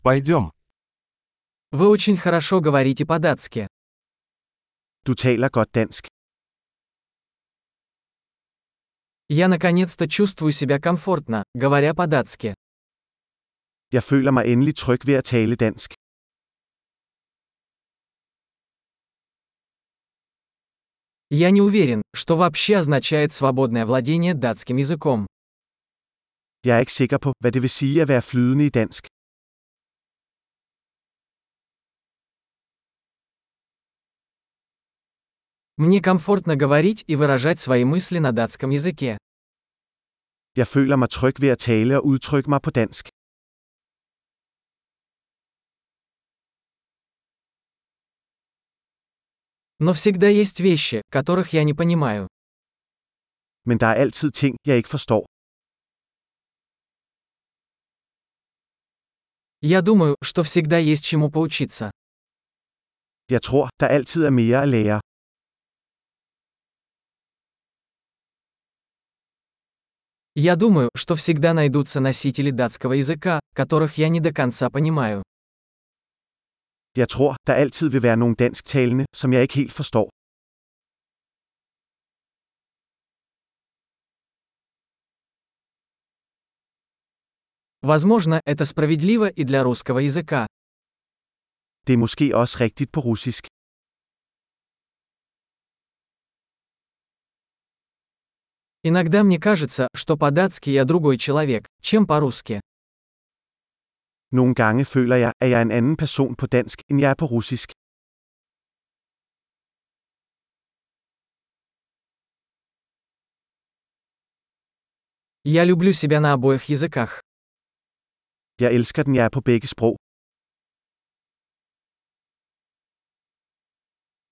Пойдем. Вы очень хорошо говорите по-датски. Du taler godt dansk. Я наконец-то чувствую себя комфортно, говоря по-датски. Jeg føler mig endelig tryg ved at tale dansk. Я не уверен, что вообще означает свободное владение датским языком. Jeg er ikke sikker på, hvad det vil sige at være flydende i dansk. Мне комфортно говорить и выражать свои мысли на датском языке. Jeg føler mig tryg ved at tale og udtrykke mig på dansk. Но всегда есть вещи, которых я не понимаю. Men der er altid ting, jeg ikke forstår. Я думаю, что всегда есть чему поучиться. Jeg tror, der altid er mere at lære. Я думаю, что всегда найдутся носители датского языка, которых я не до конца понимаю. Jeg tror, der altid vil være nogle dansktalende, som jeg ikke helt forstår. Возможно, это справедливо и для русского языка. Det er måske også rigtigt på russisk. Иногда мне кажется, что по-датски я другой человек, чем по-русски. Nogle gange føler jeg, at jeg er en anden person på dansk, end jeg er på russisk. Я люблю себя на обоих языках. Jeg elsker den, jeg er på begge sprog.